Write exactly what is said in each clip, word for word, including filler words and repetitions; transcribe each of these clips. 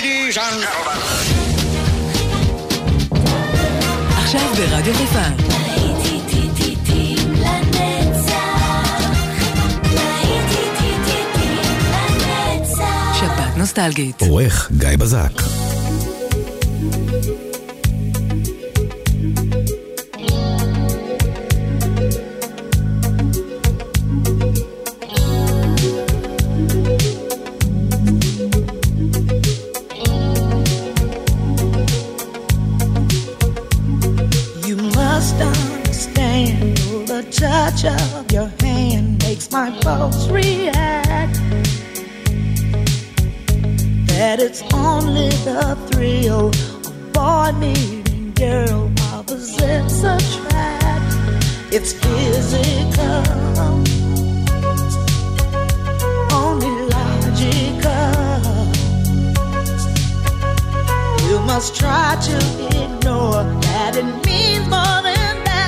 Ladies and gentlemen. עכשיו ברדיו חיפה. שבת נוסטלגית. עורך גיא בזק. Of your hand makes my pulse react. That it's only the thrill of boy meeting girl opposites attract. It's physical, only logical. You must try to ignore that it means more than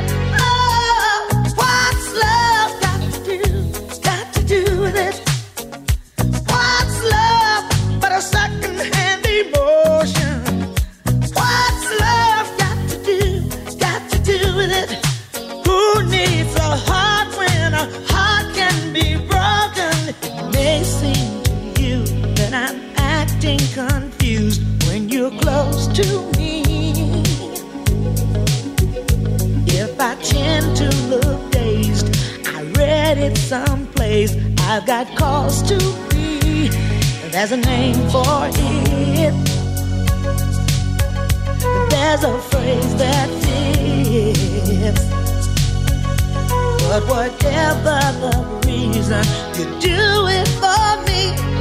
confused when you're close to me. If I tend to look dazed, I read it someplace. I've got cause to be. There's a name for it. There's a phrase that fits. But whatever the reason, you do it for me.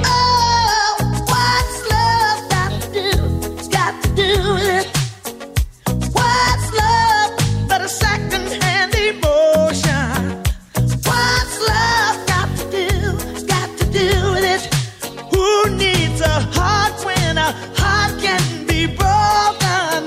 Do it. What's love but a second-hand emotion? What's love got to do, got to do with it? Who needs a heart when a heart can be broken?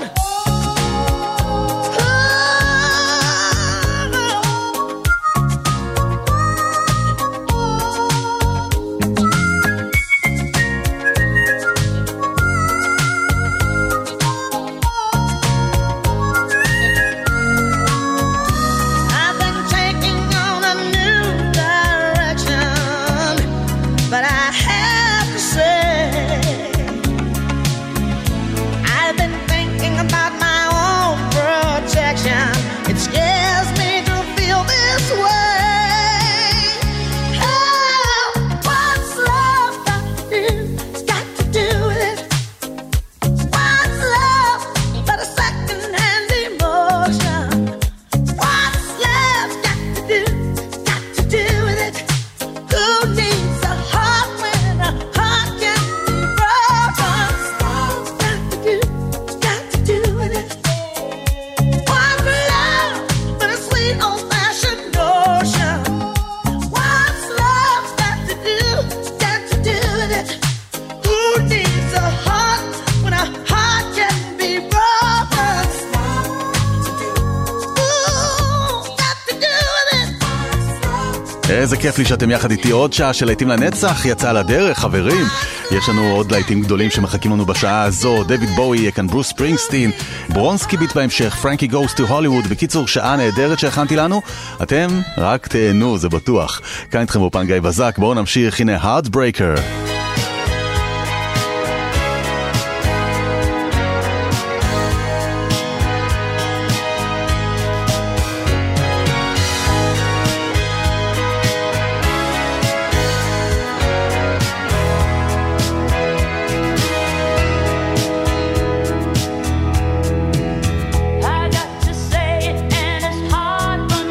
איזה כיף לי שאתם יחד איתי. עוד שעה של להיטים לנצח יצא לדרך, חברים. יש לנו עוד להיטים גדולים שמחכים לנו בשעה הזו. דויד בואי, יהיה כאן ברוס ספרינגסטין, ברונסקי ביט בהמשך, פרנקי גוס טו הוליווד. בקיצור, שעה נהדרת שהכנתי לנו. אתם רק תהנו, זה בטוח. כאן איתכם באופן גיא בזק. בואו נמשיך, הנה Heartbreaker.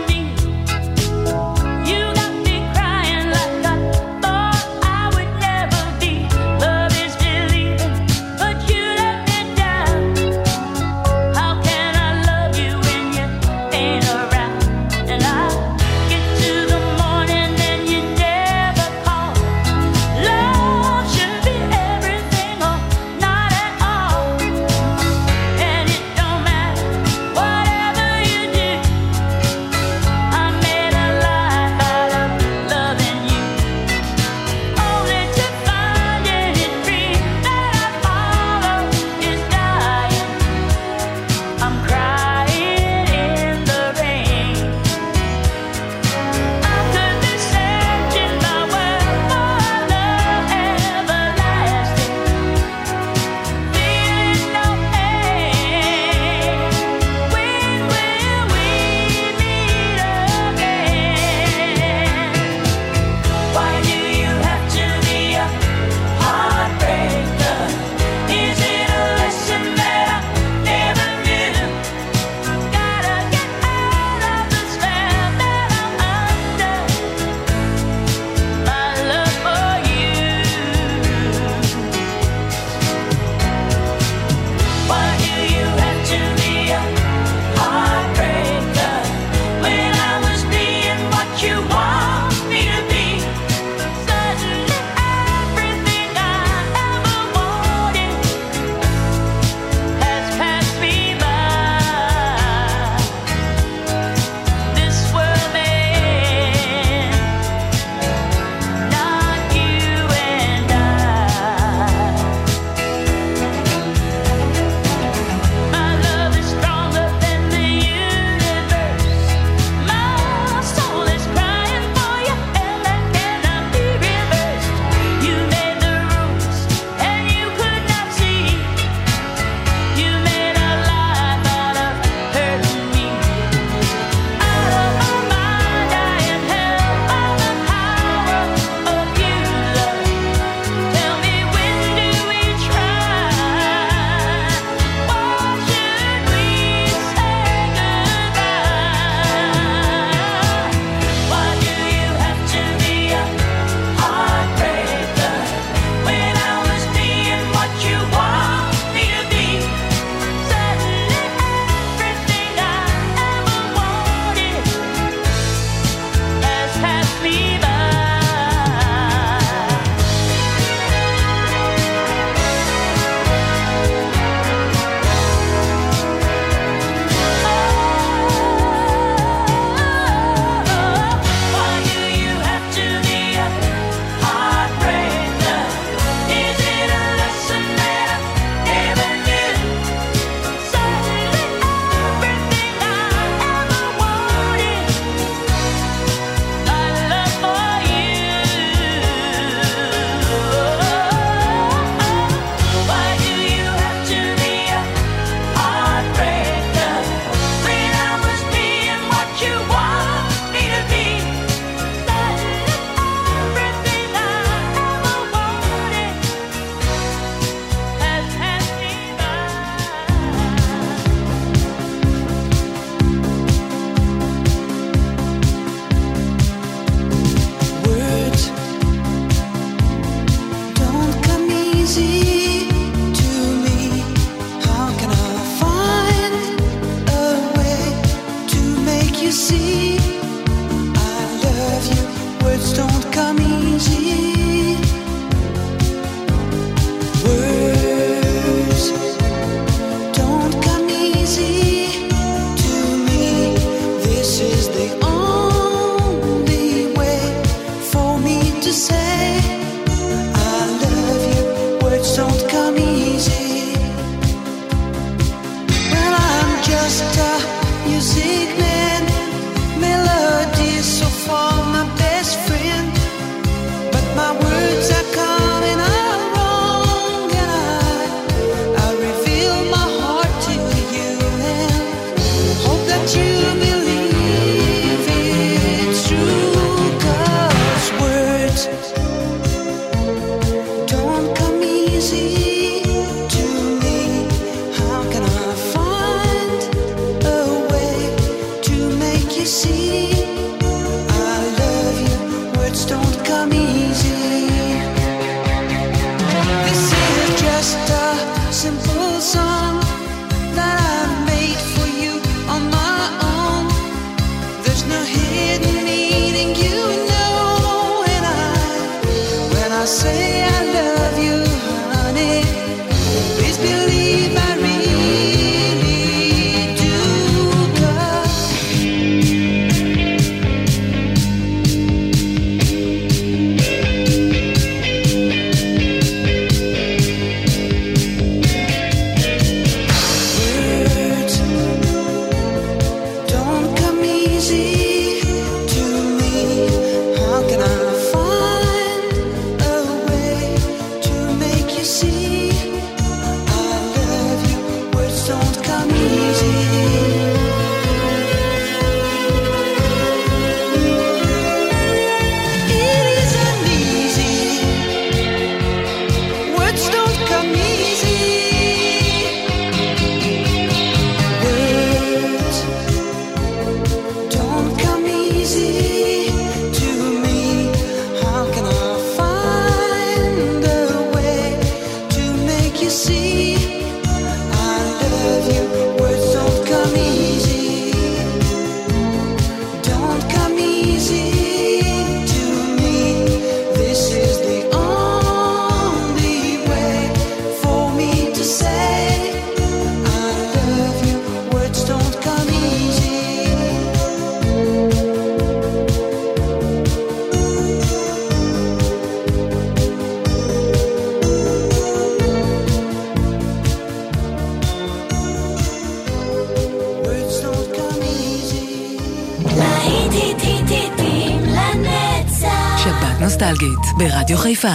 You got me crying like I thought I would never you see I love you. Words don't come easy, don't come easy to me. This is the only way for me to say I love you. Words don't come easy. Words don't come easy. להיטים לנצח. שבת נוסטלגית ברדיו חיפה.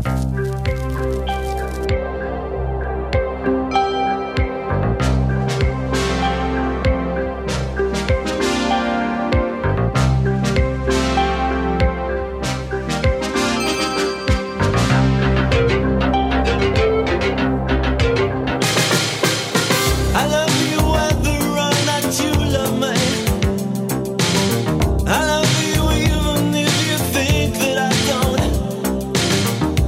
I love you whether or not you love me. I love you even if you think that I don't.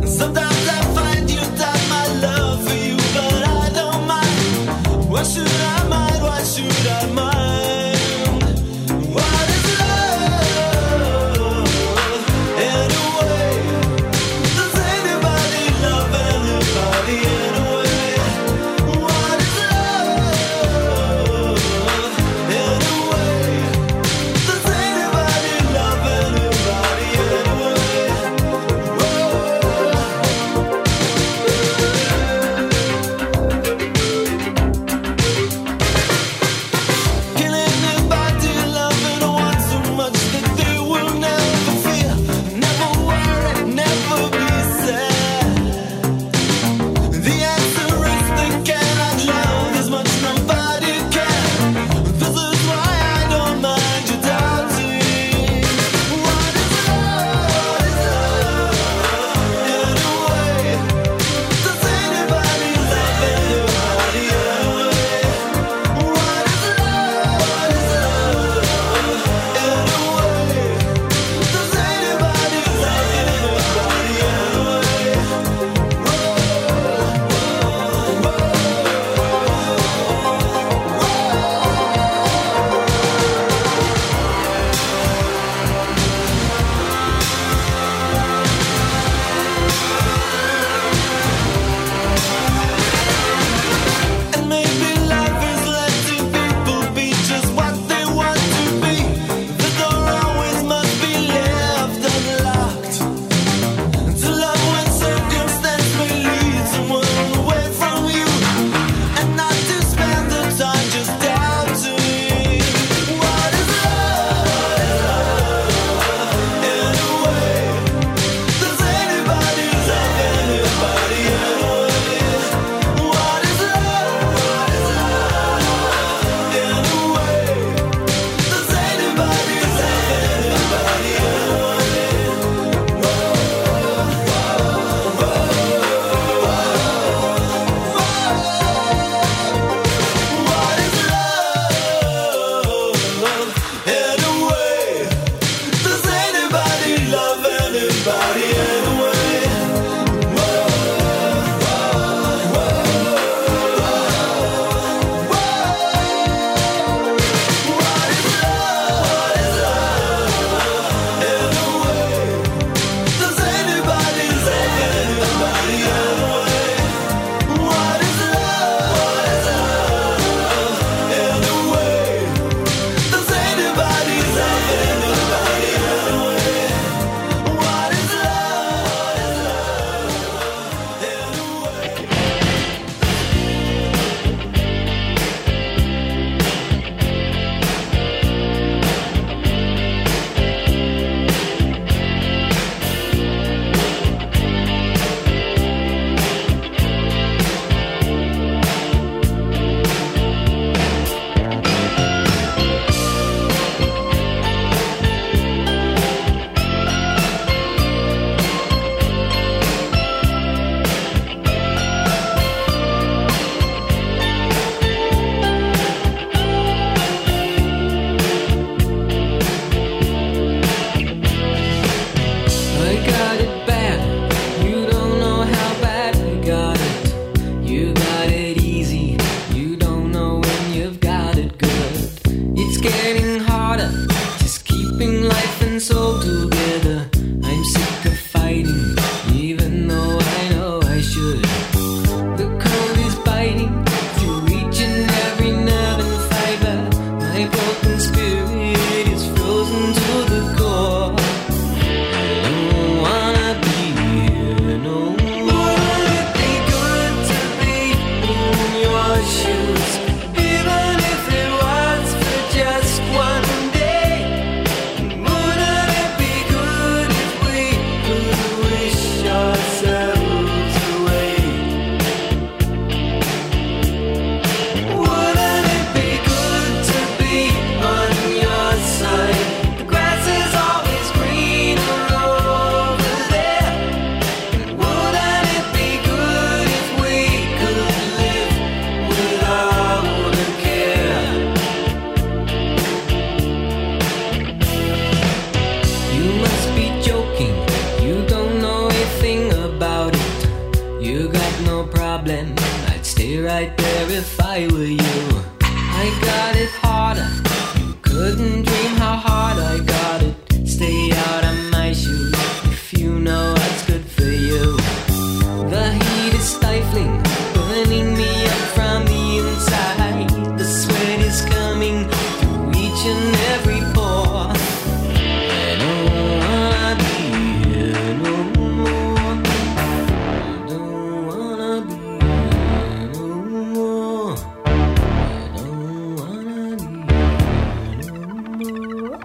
I'd stay right there if I were you. I got it harder, you couldn't dream how hard I got it. Stay out of my shoes if you know what's good for you. The heat is stifling, burning me up from the inside. The sweat is coming through each and every pore. I don't wanna be here no more. I don't wanna be here no more. I don't wanna be here no more.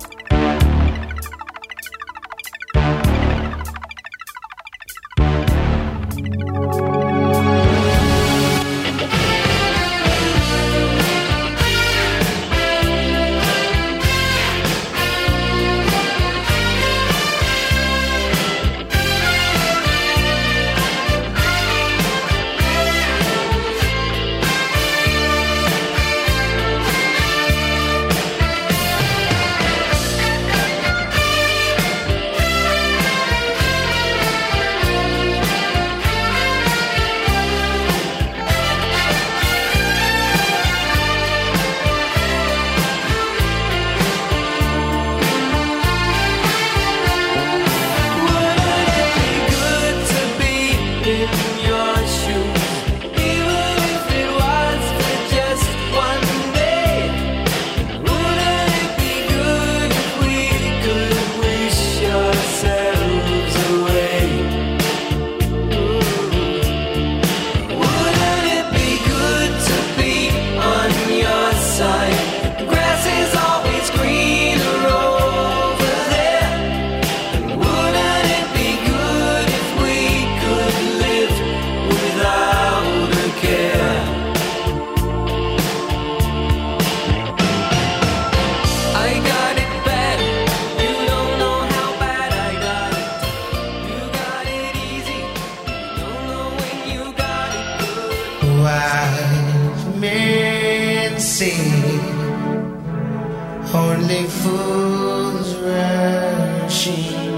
Only fools rushing,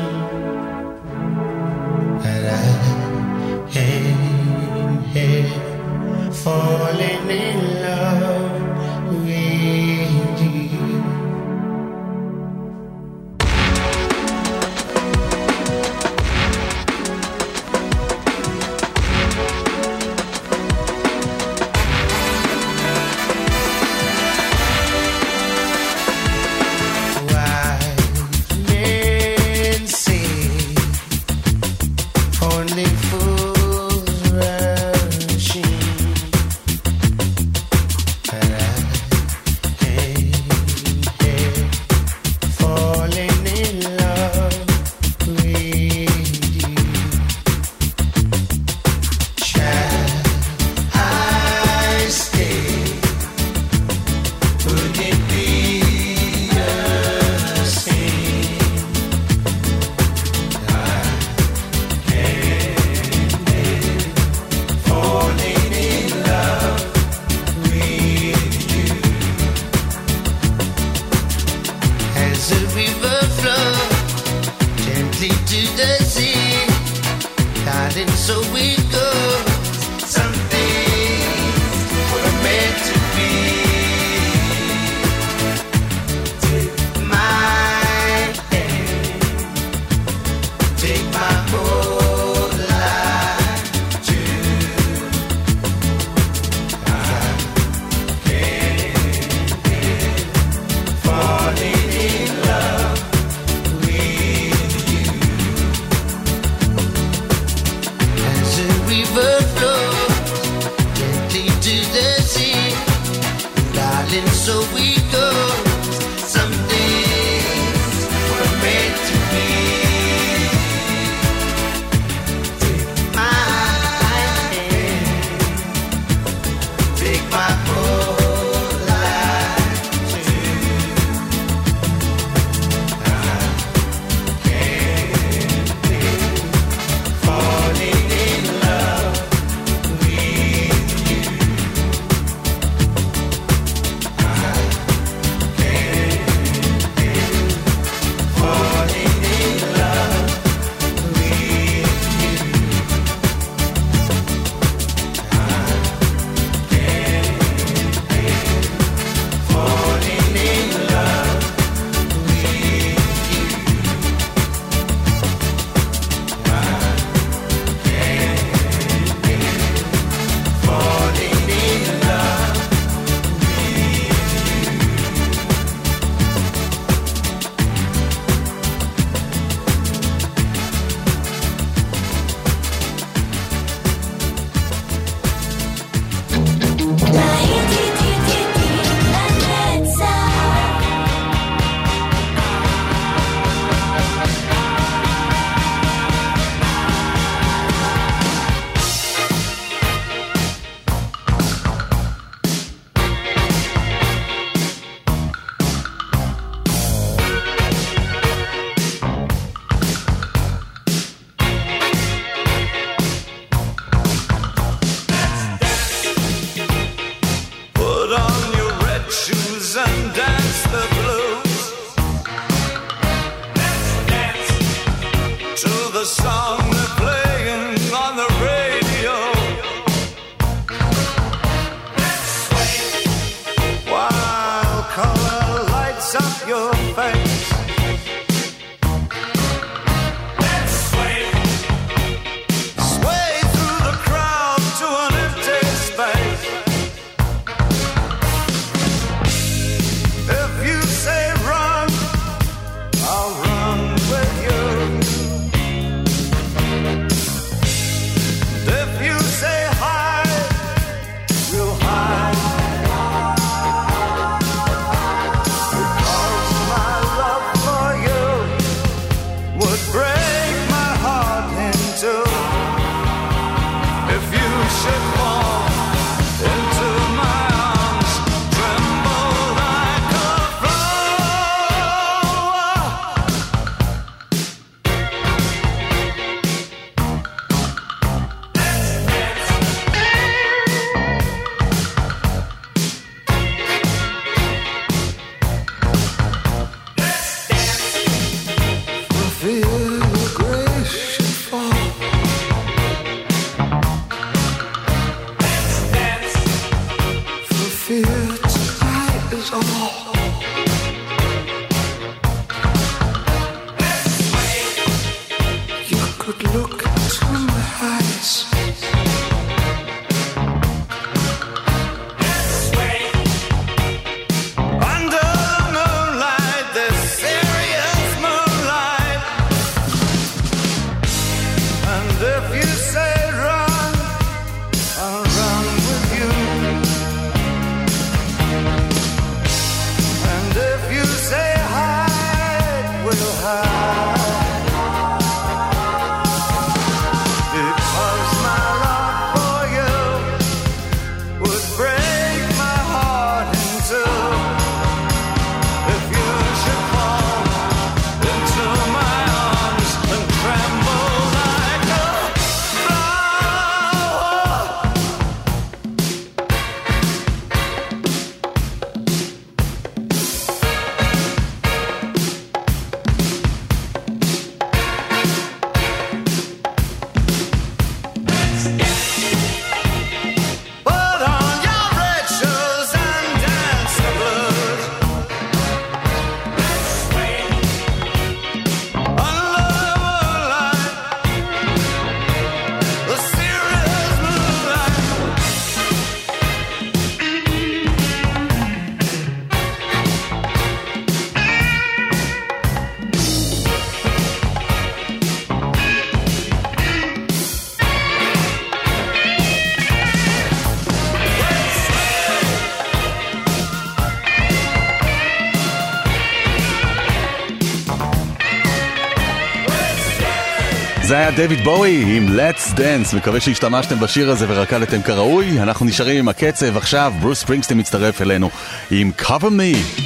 and I am here falling in love with you. Only fools rushing, זה היה דויד בואי עם Let's Dance. מקווה שהשתמשתם בשיר הזה ורקדתם כראוי. אנחנו נשארים עם הקצב. עכשיו ברוס ספרינגסטין מצטרף אלינו עם Cover Me.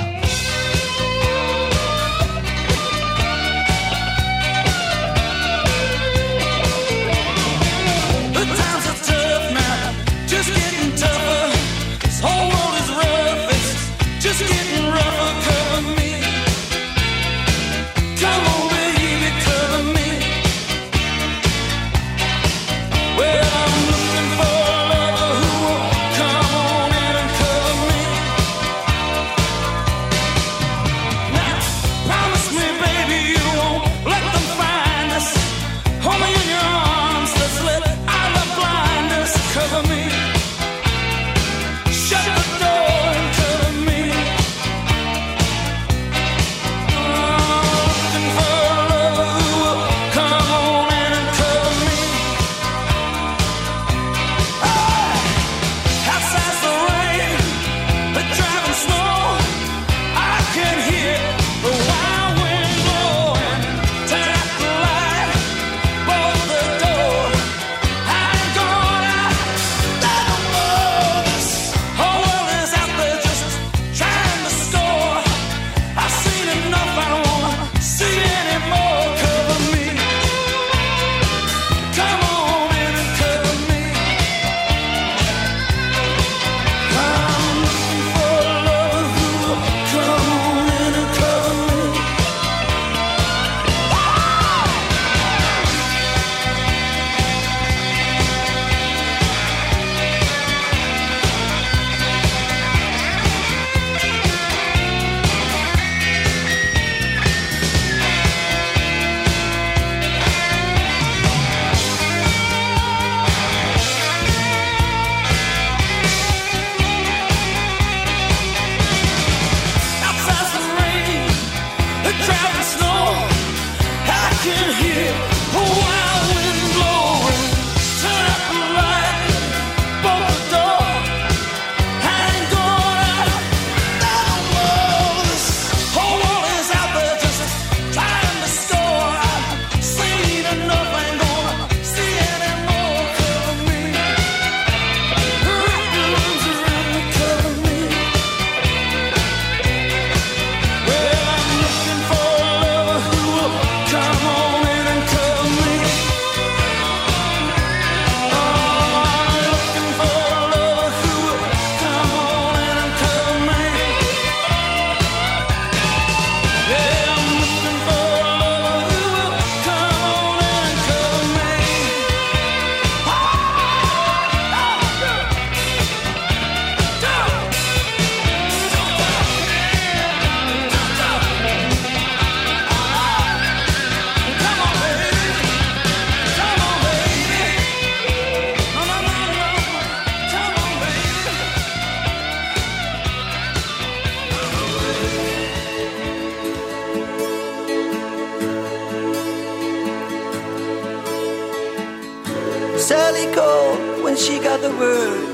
Sally called when she got the word.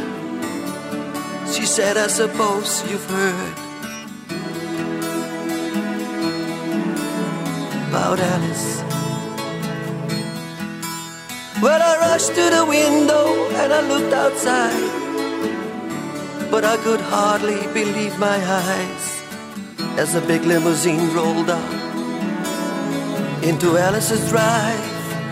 She said, I suppose you've heard about Alice. Well, I rushed to the window and I looked outside, but I could hardly believe my eyes as a big limousine rolled up into Alice's drive.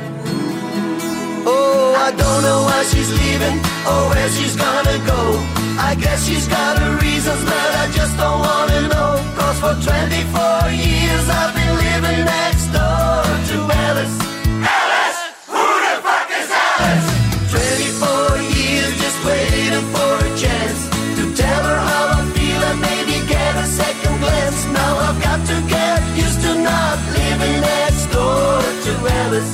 Oh, I don't know why she's leaving or where she's gonna go. I guess she's got her reasons, but I just don't wanna know. Cause for twenty-four years I've been living next door to Alice. Alice! Who the fuck is Alice? twenty-four years just waiting for a chance to tell her how I feel and maybe get a second glance. Now I've got to get used to not living next door to Alice.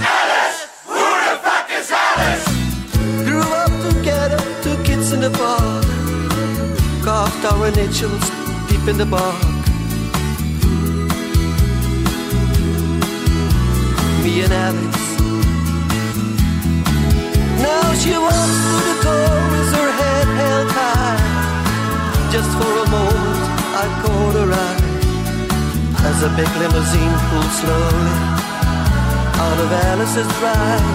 Grew up together, two kids in the park, carved our initials deep in the bark. Me and Alice. Now she walks through the door with her head held high. Just for a moment I caught her eye as a big limousine pulled slowly part of Alice's drive.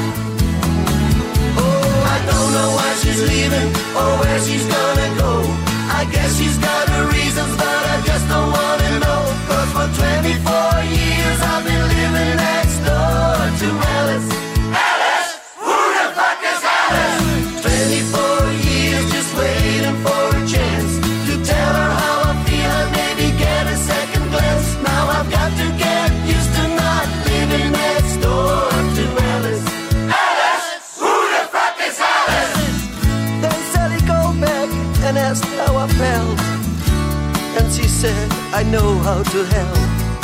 Oh, I don't know why she's leaving or where she's gonna go. I guess she's got her reasons, but I just don't wanna know. Cause for twenty-four years I've been living next door to Alice. Alice? Who the fuck is Alice? twenty-four years just waiting for a chance to tell her how I feel and maybe get a second glance. Now I've got to get used to not living next door to Alice. Alice? Who the fuck is Alice? Then Sally go back and asked how I felt, and she said, I know how to help.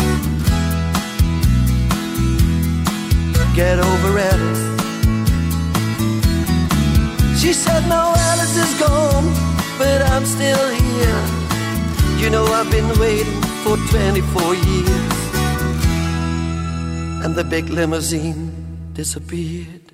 Get over Alice. She said, no, Alice is gone, but I'm still here. You know I've been waiting for twenty-four years. And the big limousine disappeared.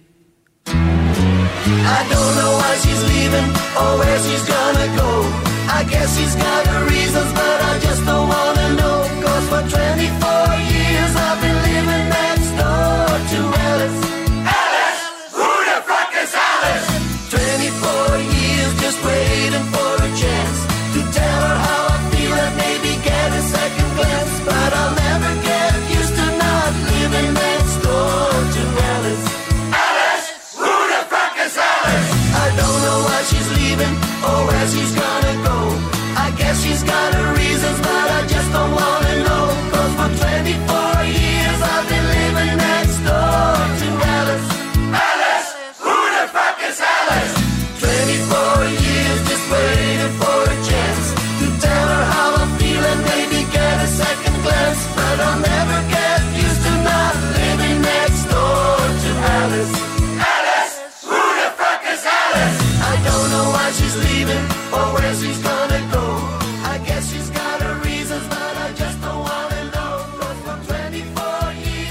I don't know why she's leaving or where she's gonna go. I guess she's got her reasons, but I just don't wanna know. Cause for twenty-four years I've been living next door to Alice. Alice? Who the fuck is Alice? twenty-four years just waiting for a chance to tell her how I feel and maybe get a second glance. But I'll never get used to not living next door to Alice. Alice? Who the fuck is Alice? I don't know why she's leaving or where she's gonna go. I guess she's got her reasons, but I just don't wanna know. Cause for twenty-four years I've been living next door to Alice. Alice? Who the fuck is Alice? twenty-four years just waiting for a chance to tell her how I feel and maybe get a second glance. But I'll never get used to not living next door to Alice. Alice? Who the fuck is Alice? I don't know why she's leaving or where she's gonna go. I guess she's got her reasons, but I just don't wanna know. Cause for twenty-four years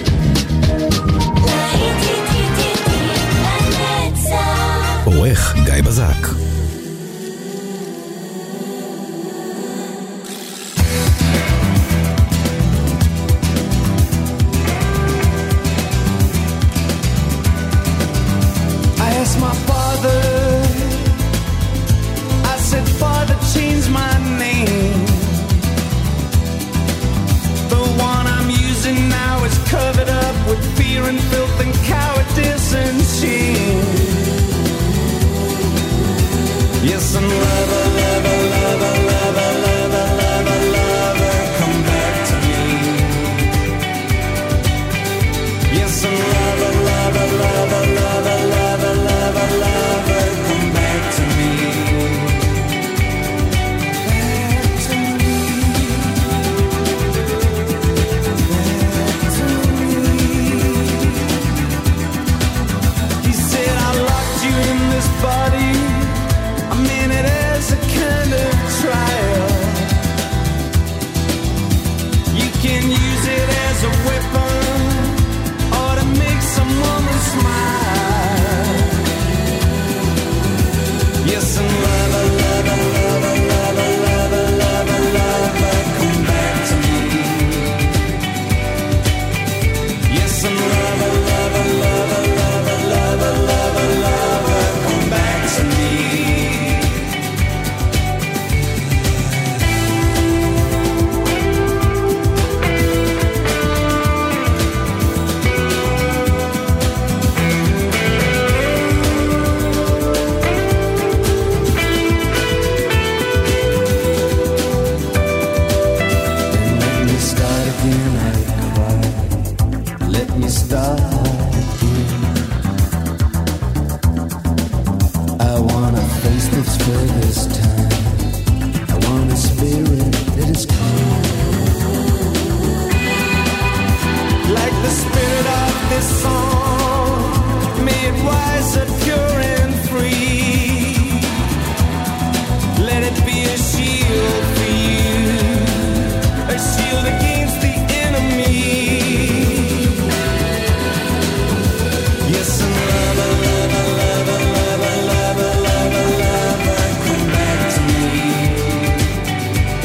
עורך גיא בזק. I asked my father, I said, Father, change my name. The one I'm using now is covered up with fear and filth and cowardice and shame. Yes, I'm lover, lover, lover, lover, lover, lover, lover, come back to me. Yes, I'm lover, lover, lover, lover, lover, lover, lover, come back to me. Back to me. Back to me. He said, I locked you in this body. I mean it as a kind of trial. You can use it as a weapon or to make some woman smile. Yes, and lover, lover, lover, lover, lover, lover, lover, come back to me. Yes, and lover, lover, lover, lover, lover, lover, lover, come back to me.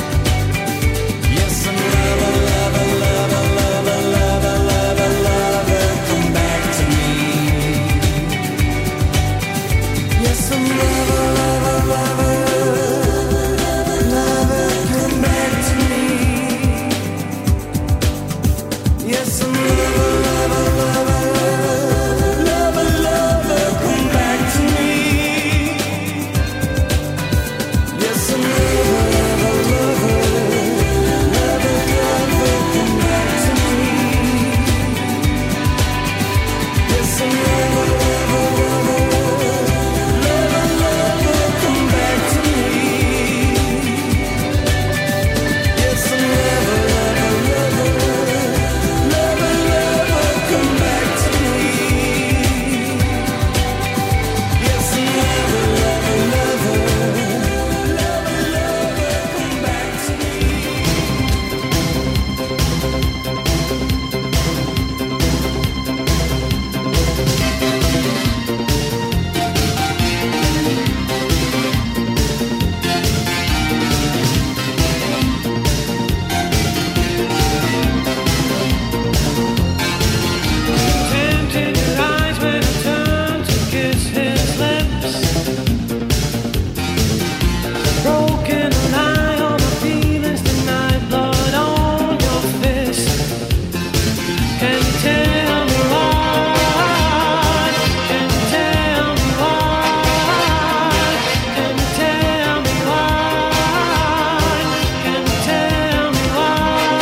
Lover, lover, lover, lover, lover, lover, some lover, lover, lover, lover, come back to me. Yes, some lover, lover, lover, lover, lover, come back to me. Yes, some lover, lover, lover, lover, come back to me. Yes, some lover, lover, lover, lover, lover, come back to me. Yes, some lover, lover, lover, lover, lover, come back to me. Yes, some lover, lover, lover, lover, lover, come back to me. Tempted your eyes when I turned to kiss his lips. Broken lie on my feelings tonight, blood on your fist. Can you tell me why? Can you tell me why? Can you tell me why? Can you tell me why?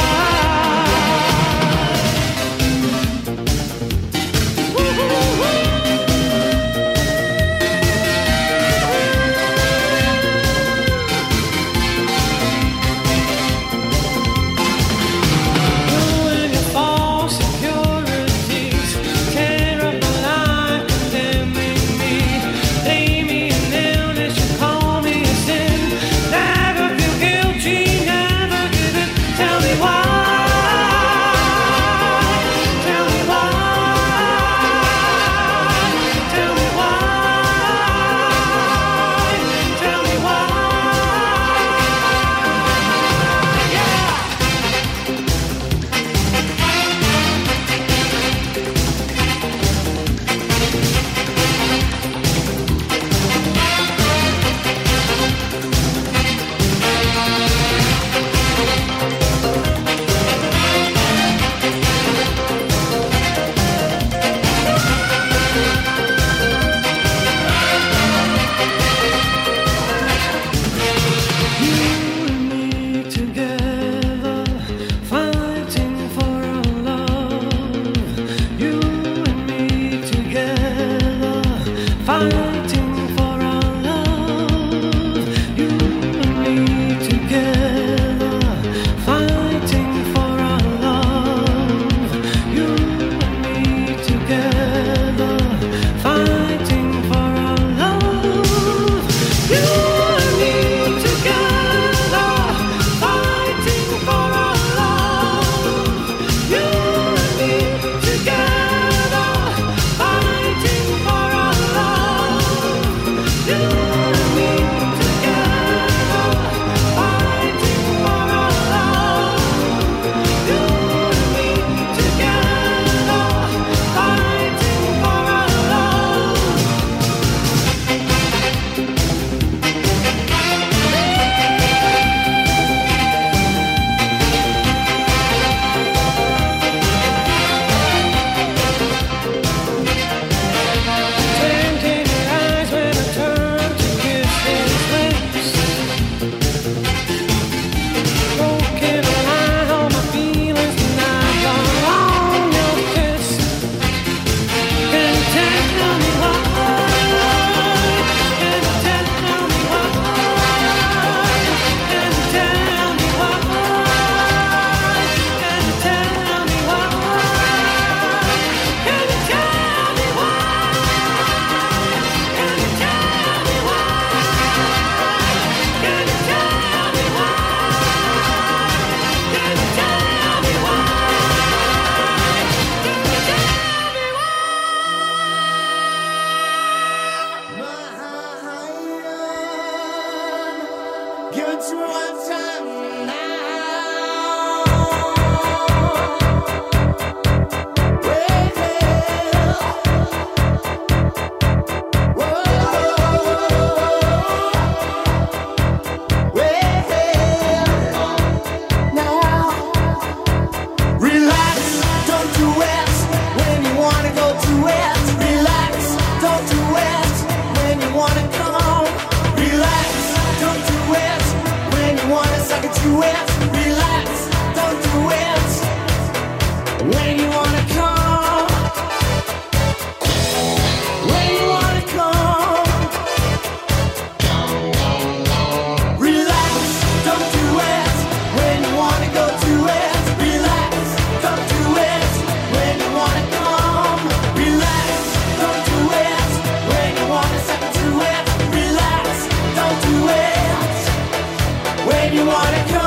You and your false securities tear up my life, condemning me. Lay me in illness, you call me a sin. Never feel guilty, never give it. Tell me why. Tell me why. Tell me why. Tell me why. Yeah. You and me together, fighting for our love. You and me together, fighting for our love. You and me together, fighting for our love. You and me together, fighting for our love. You and me together, fighting for our love. You and me together, fighting for our love. You and me together, fighting for our love. You and me together, fighting for our love. Tempting your eyes when I turned to kiss his lips. Broken lie on my feelings tonight, blood on your kiss. Can you tell me why? Can you tell me why? Can you tell me why? Can you tell me why? Can you tell me why? Can you tell me why? Can you tell me why? Can you tell me why? Can you tell me why? Give it to me one time now. Well, whoa, it, relax, don't do it. When you wanna come, when you wanna come, relax, don't do it. When you wanna go to it, relax, don't do it. When you wanna come, relax, don't do it. When you wanna step to it, relax, don't do it. When you wanna come.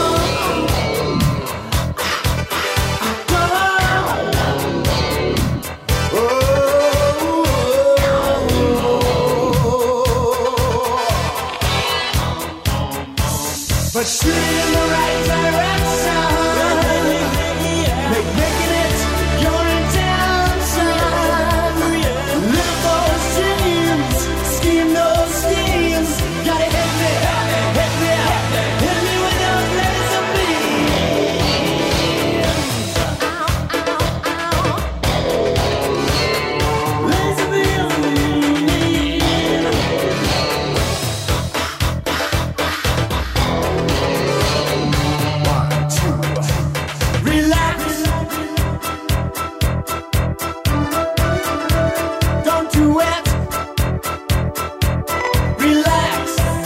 But shoot it in the right direction. Make making it your intention. Live those dreams, scheme those schemes. Gotta hit me, hit me, hit me with those laser beams. Laser beams. Relax. Don't do it. Relax.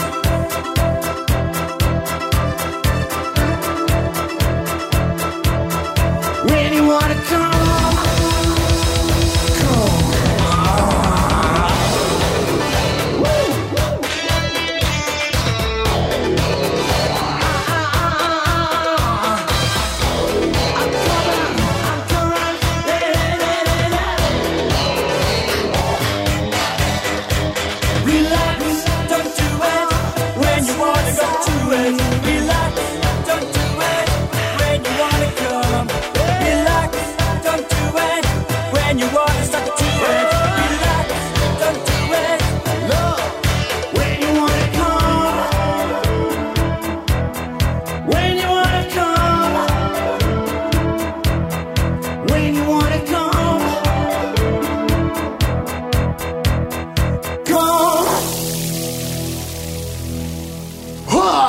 When you wanna come, come. Woo. Relax, don't do it when you wanna go to it. Relax, don't do it when you wanna come. Relax, don't do it when you wanna stop to it. Relax, don't do it. Love, when you wanna come. When you wanna come. When you wanna come. Come. Huh.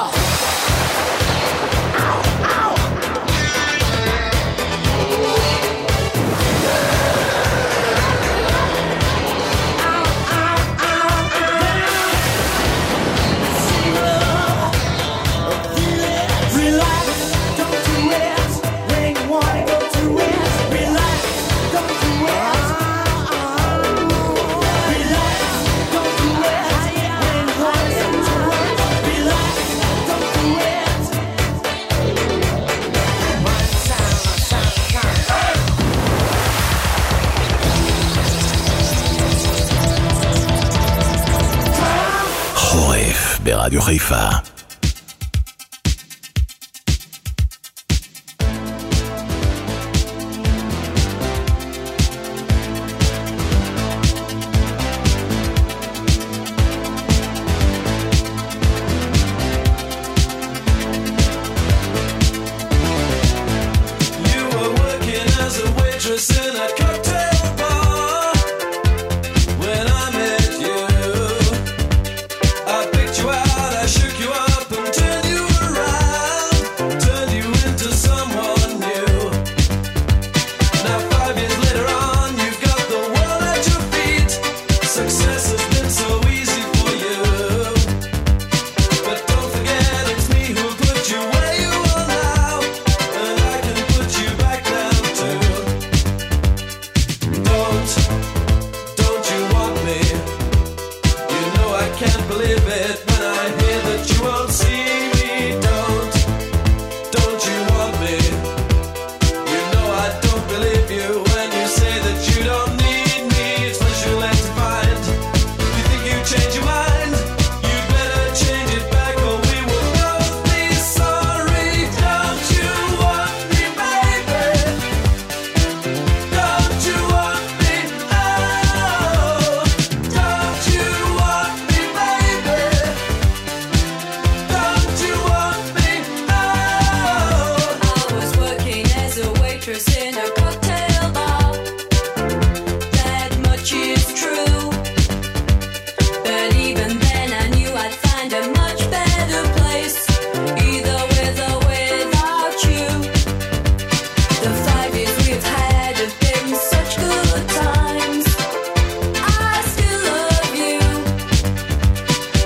Relax, don't do it when you wanna go to it. Relax, don't do it. Relax, don't do it when you wanna go to it. Relax, don't do it. חורף ברדיו חיפה. You were working as a waitress in a cocktail bar when I met you. I picked you out, I shook you up and turned you around, turned you into someone new. Now five years later on, you've got the world at your feet. Success has been so easy for you. But don't forget it's me who put you where you are now, and I can put you back down too. Don't, don't you want me? You know I can't believe it when I hear that you won't see me. Don't, don't you want me? You know I don't believe you when you say that you don't need me. It's what you like to find. You think you change your mind? You'd better change it back or we will both be sorry. Don't you want me, baby? Don't you want me? Oh, don't you want me, baby?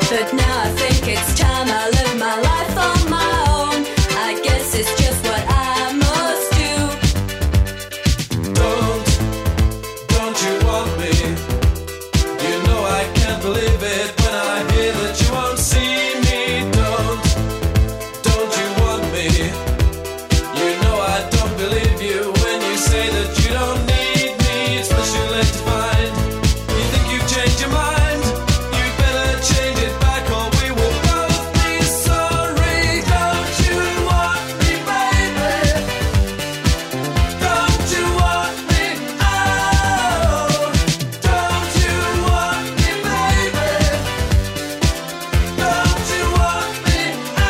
But now I think it's time I live my life on my own. I guess it's just what I must do. Don't, don't you want me? You know I can't believe it when I hear that you won't see me. Don't, don't you want me? You know I don't believe you when you say that you don't need me. It's much too late to find. You think you've changed your mind? You better change it back or we will both be sorry. Don't you want me, baby? Don't you want me? Oh, don't you want me, baby? Don't you want me?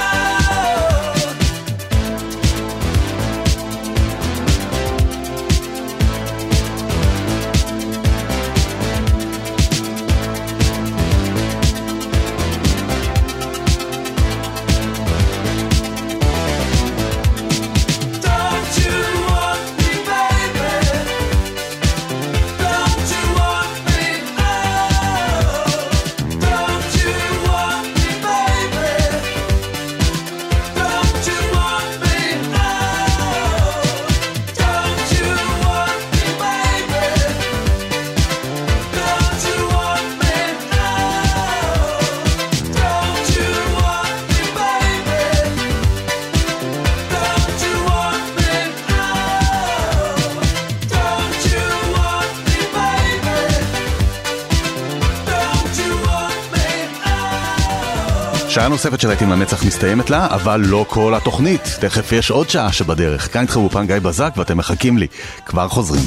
Don't you want me, baby? Don't you want me? Oh, don't you want me, baby? Don't you want me? Oh, don't you want me, baby? Don't you want me? Oh, don't you want me, baby? Don't you want me? Oh, don't you want me, baby? Don't you want me? Oh. שעה נוספת של להיטים לנצח מסתיימת לה, אבל לא כל התוכנית. תכף יש עוד שעה שבדרך. כאן איתכם באופן גיא בזק ואתם מחכים לי. כבר חוזרים.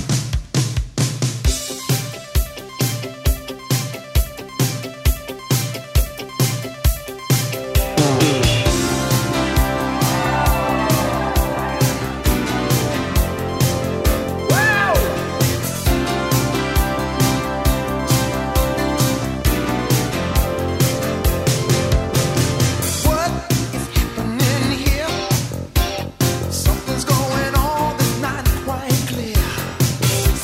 What is happening here? Something's going on that's not quite clear.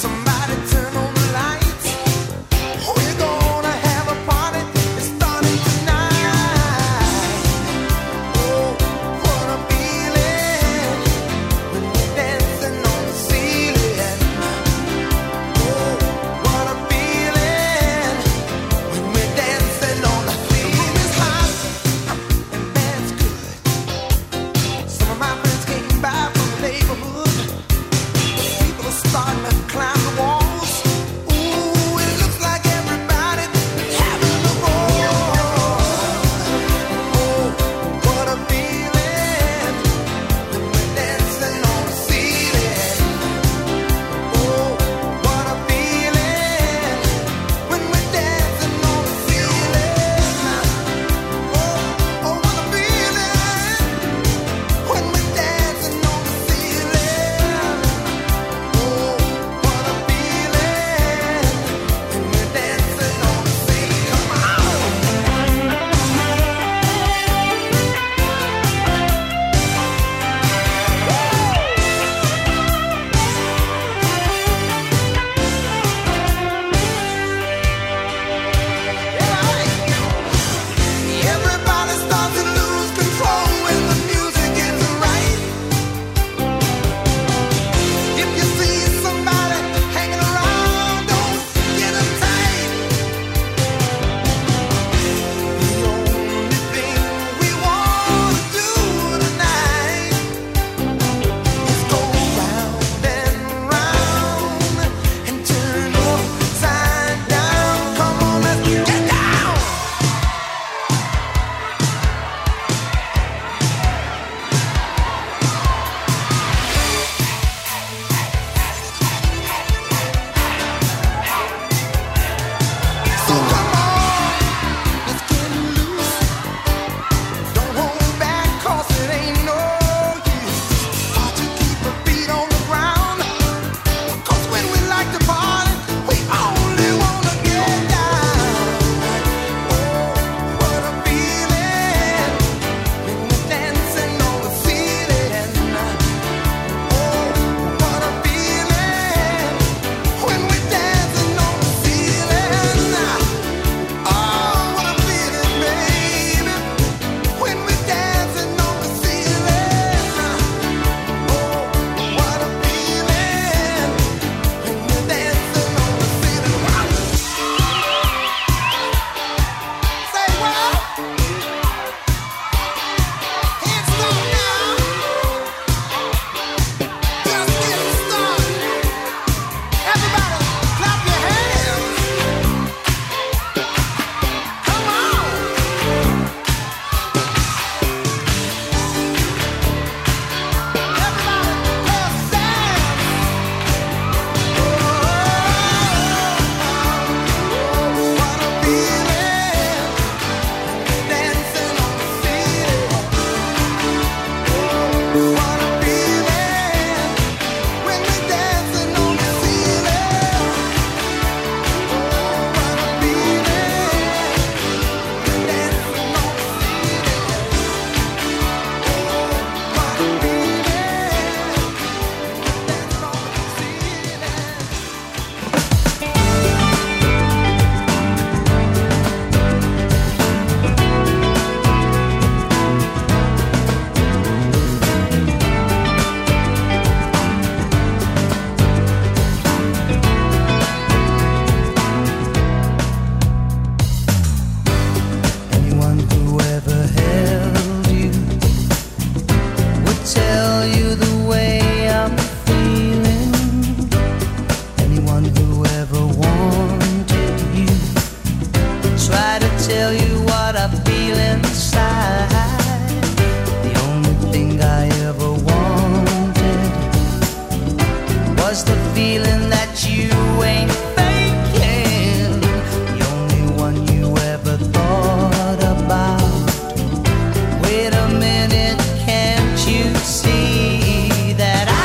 feel inside. The only thing I ever wanted was the feeling that you ain't faking. The only one you ever thought about. Wait a minute, can't you see that I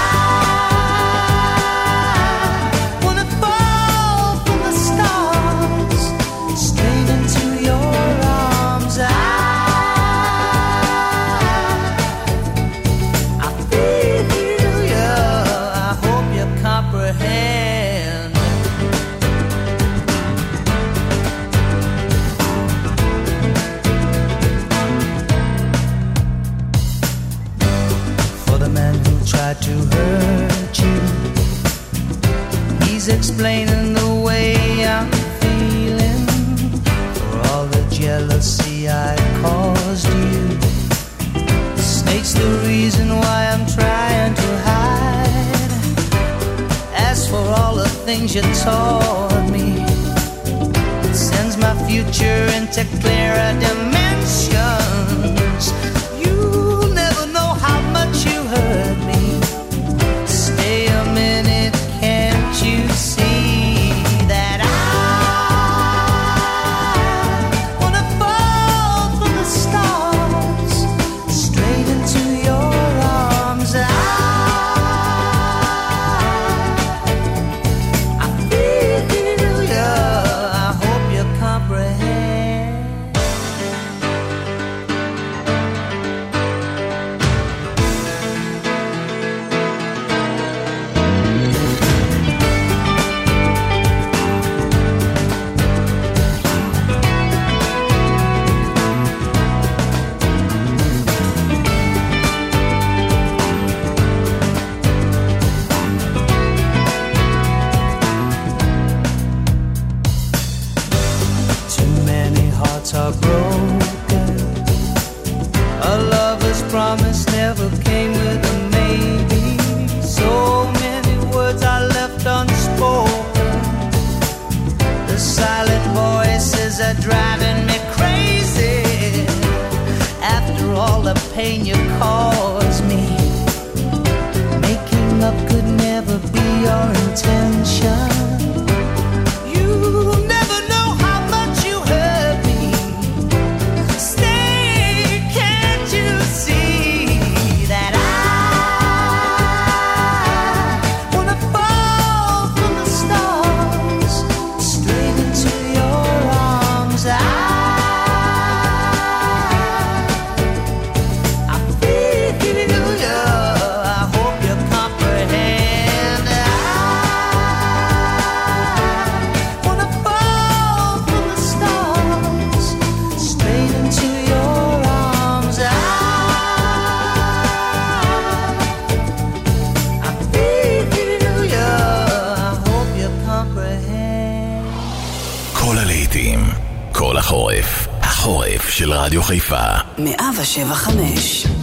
wanna fall from the stars straight into your arms? I, I feel you. I hope you comprehend. For the man who tried to hurt you, he's explaining the way I'm feeling. For all the jealousy I caused you, the snake's the reason why I'm trying to hide. As for all the things you taught me, it sends my future into clearer dimensions. You'll never know how much you hurt me. Stay a minute, can't you see that I wanna fall from the stars straight into your arms? I, I feel you. I hope you comprehend. Too many hearts are broken. A lover's promise never came with a maybe. So many words are left unspoken. The silent voices are driving me crazy. After all the pain you caused me, making up could never be your intention. You'll never know how much you hurt me. Stay, can't you see that I wanna fall from the stars straight into your arms? I, I feel you. I hope you comprehend. I wanna fall from the stars straight into your arms. I, I feel you. I hope you comprehend. כל הלהיטים, כל החורף, החורף של רדיו חיפה. מאה ושבע חמש.